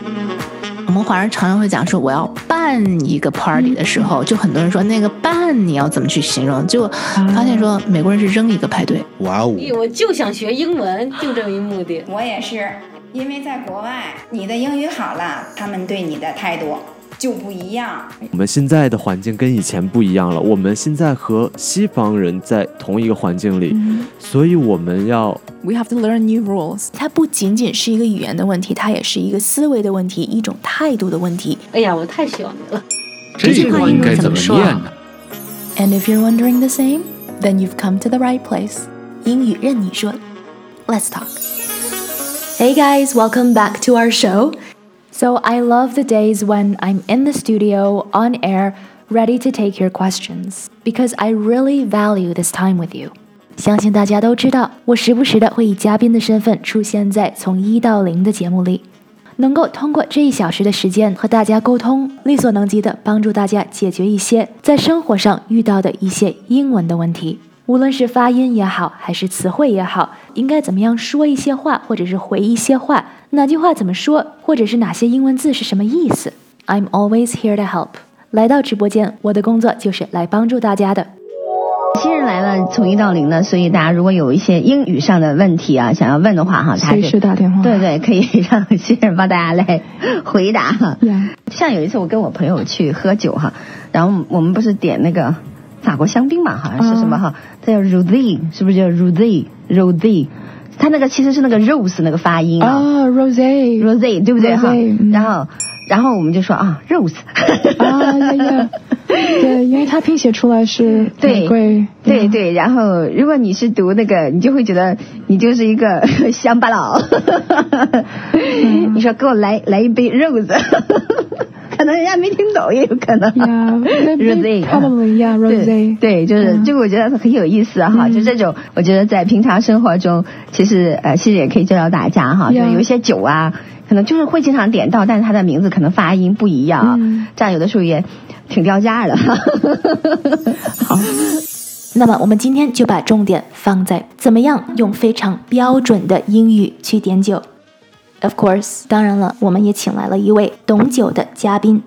我们华人常常会讲说我要办一个 party 的时候，就很多人说那个办你要怎么去形容，就发现说美国人是扔一个派对。 哇哦！ 我就想学英文，就这一目的。 我也是，因为在国外你的英语好了，他们对你的态度就不一样。 我们现在的环境跟以前不一样了，我们现在和西方人在同一个环境里，所以我们要 We have to learn new rules. 它不仅仅是一个语言的问题，它也是一个思维的问题，一种态度的问题。 哎呀，我太喜欢你了。 这句话应该怎么念呢？ And if you're wondering the same, then you've come to the right place. 英语任你说 Let's talk. Hey guys, welcome back to our show. So I love the days when I'm in the studio, on air, ready to take your questions, because I really value this time with you. 相信大家都知道，我时不时的会以嘉宾的身份出现在从1到0的节目里，能够通过这1小时的时间和大家沟通，力所能及的帮助大家解决一些在生活上遇到的一些英文的问题，无论是发音也好，还是词汇也好，应该怎么样说一些话，或者是回一些话，哪句话怎么说，或者是哪些英文字是什么意思。 I'm always here to help. 来到直播间，我的工作就是来帮助大家的。 新人来了，从1到0呢，所以大家如果有一些英语上的问题啊，想要问的话哈， 随时打电话。 对对，可以让新人帮大家来回答哈。像有一次我跟我朋友去喝酒哈，然后我们不是点那个法国香槟嘛，好像是什么哈，它叫 rosé， 是不是叫 rosé？ 它那个其实是那个 rose 那个发音啊，rosé 对不对哈？然后我们就说啊 rose 对，因为它拼写出来是玫瑰。 对，然后如果你是读那个，你就会觉得你就是一个乡巴佬。你说给我来一杯 rose， 可能人家没听懂也有可能。 Rosé probably rosé。 对，就是这个我觉得很有意思哈，就这种我觉得在平常生活中，其实也可以教教大家哈，就是有一些酒啊。可能就是会经常点到，但是它的名字可能发音不一样，这样有的时候也挺掉价的。 好，那么我们今天就把重点放在怎么样用非常标准的英语去点酒。Of course， 当然了，我们也请来了一位懂酒的嘉宾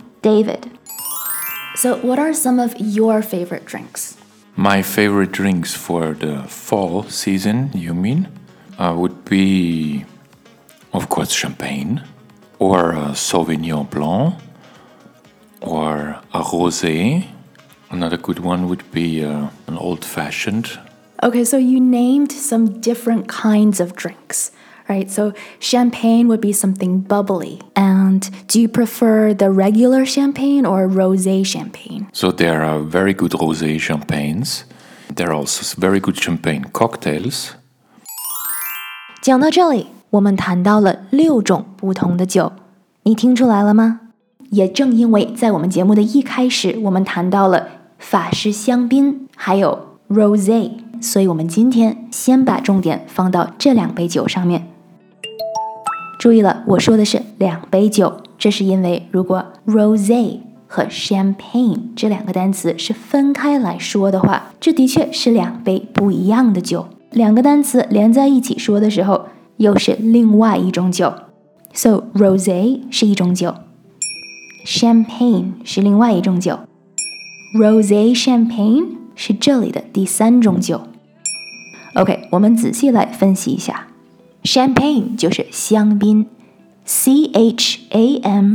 David。So what are some of your favorite drinks? My favorite drinks for the fall season, you mean, would be...Of course, champagne, or a Sauvignon Blanc, or a rosé. Another good one would be an old-fashioned. Okay, so you named some different kinds of drinks, right? So champagne would be something bubbly. And do you prefer the regular champagne or rosé champagne? So there are very good rosé champagnes. There are also very good champagne cocktails. 讲到这里，我们谈到了6种不同的酒，你听出来了吗？也正因为在我们节目的一开始，我们谈到了法式香槟还有 rosé， 所以我们今天先把重点放到这2杯酒上面。注意了，我说的是2杯酒，这是因为如果 rosé 和 champagne 这2个单词是分开来说的话，这的确是2杯不一样的酒。2个单词连在一起说的时候，又是另外一种酒。 So rosé 是一种酒， champagne 是另外一种酒， rosé champagne 是这里的第3种酒。 OK， 我们仔细来分析一下。 champagne 就是香槟， CHAMPAGNE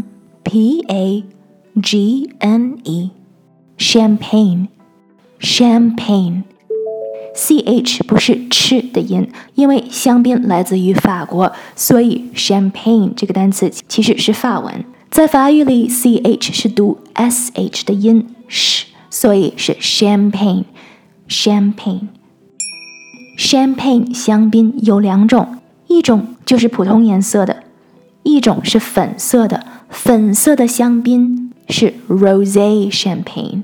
champagne CH 不是吃的音，因为香槟来自于法国，所以 champagne 这个单词其实是法文。在法语里 CH 是读 SH 的音，所以是 champagne。 Champagne 香槟有2种，一种就是普通颜色的，一种是粉色的。粉色的香槟是 rosé champagne。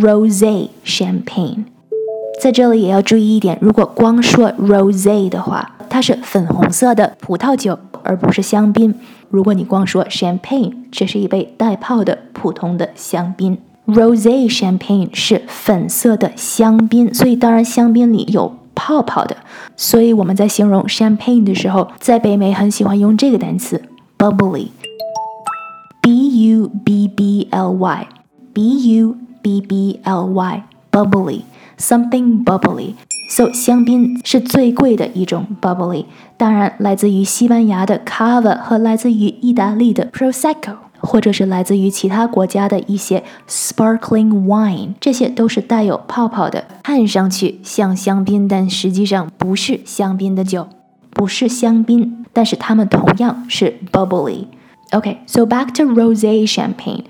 在这里也要注意一点，如果光说 rosé 的话，它是粉红色的葡萄酒，而不是香槟。如果你光说 champagne， 这是一杯带泡的普通的香槟。rosé champagne 是粉色的香槟，所以当然香槟里有泡泡的，所以我们在形容 champagne 的时候，在北美很喜欢用这个单词 bubbly。 B-U-B-B-L-Y bubbly something bubbly So 香槟是最贵的一种 bubbly 当然来自于西班牙的 Cava 和来自于意大利的 Prosecco或者是来自于其他国家的一些 sparkling wine 这些都是带有泡泡的看上去像香槟但实际上不是香槟的酒不是香槟但是它们同样是 bubbly Okay, so back to rosé champagne.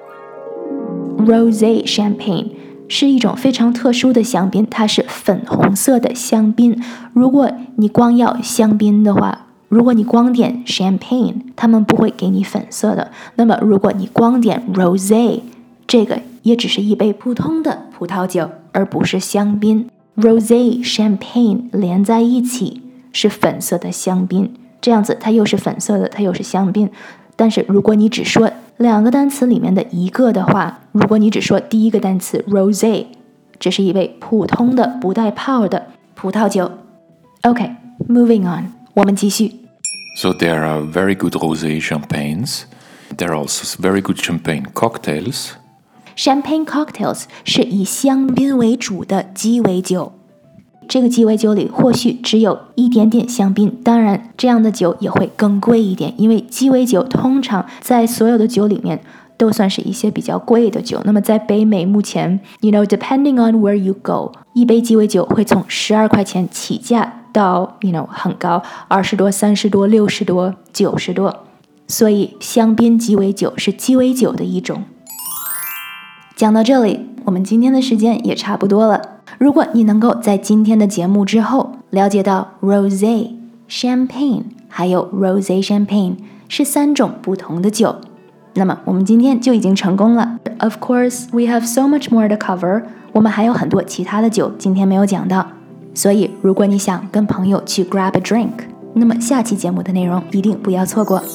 Rosé champagne 是一种非常特殊的香槟，它是粉红色的香槟。如果你光要香槟的话，如果你光点 champagne， 他们不会给你粉色的。那么如果你光点 rosé， 这个也只是一杯普通的葡萄酒，而不是香槟。Rosé champagne 连在一起是粉色的香槟，这样子它又是粉色的，它又是香槟。但是如果你只说两个单词里面的一个的话，如果你只说第一个单词 rosé， 这是一杯普通的不带泡的葡萄酒。Okay, moving on， 我们继续。 So there are very good rosé champagnes. There are also very good champagne cocktails. Champagne cocktails 是以香槟为主的鸡尾酒。这个鸡尾酒里或许只有一点点香槟，当然这样的酒也会更贵一点，因为鸡尾酒通常在所有的酒里面都算是一些比较贵的酒。那么在北美目前 depending on where you go， 一杯鸡尾酒会从12块钱起价到很高，20多、30多、60多、90多，所以香槟鸡尾酒是鸡尾酒的一种。讲到这里，我们今天的时间也差不多了。如果你能够在今天的节目之后了解到 rosé、champagne 还有 rosé champagne 是3种不同的酒，那么我们今天就已经成功了。Of course, we have so much more to cover. 我们还有很多其他的酒今天没有讲到，所以如果你想跟朋友去 grab a drink， 那么下期节目的内容一定不要错过。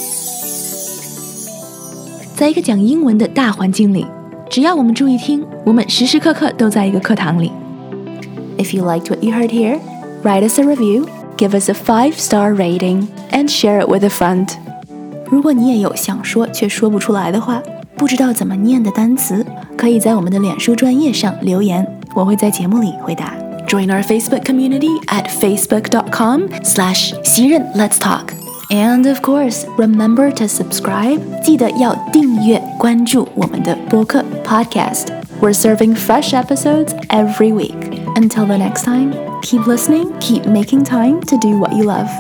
在一个讲英文的大环境里，只要我们注意听，我们时时刻刻都在一个课堂里。If you liked what you heard here, write us a review, give us a 5-star rating, and share it with a friend. 如果你也有想说却说不出来的话，不知道怎么念的单词，可以在我们的脸书专页上留言，我会在节目里回答。Join our Facebook community at facebook.com/西任 Let's Talk.And of course, remember to subscribe. 记得要订阅关注我们的播客 podcast. We're serving fresh episodes every week. Until the next time, keep listening, keep making time to do what you love.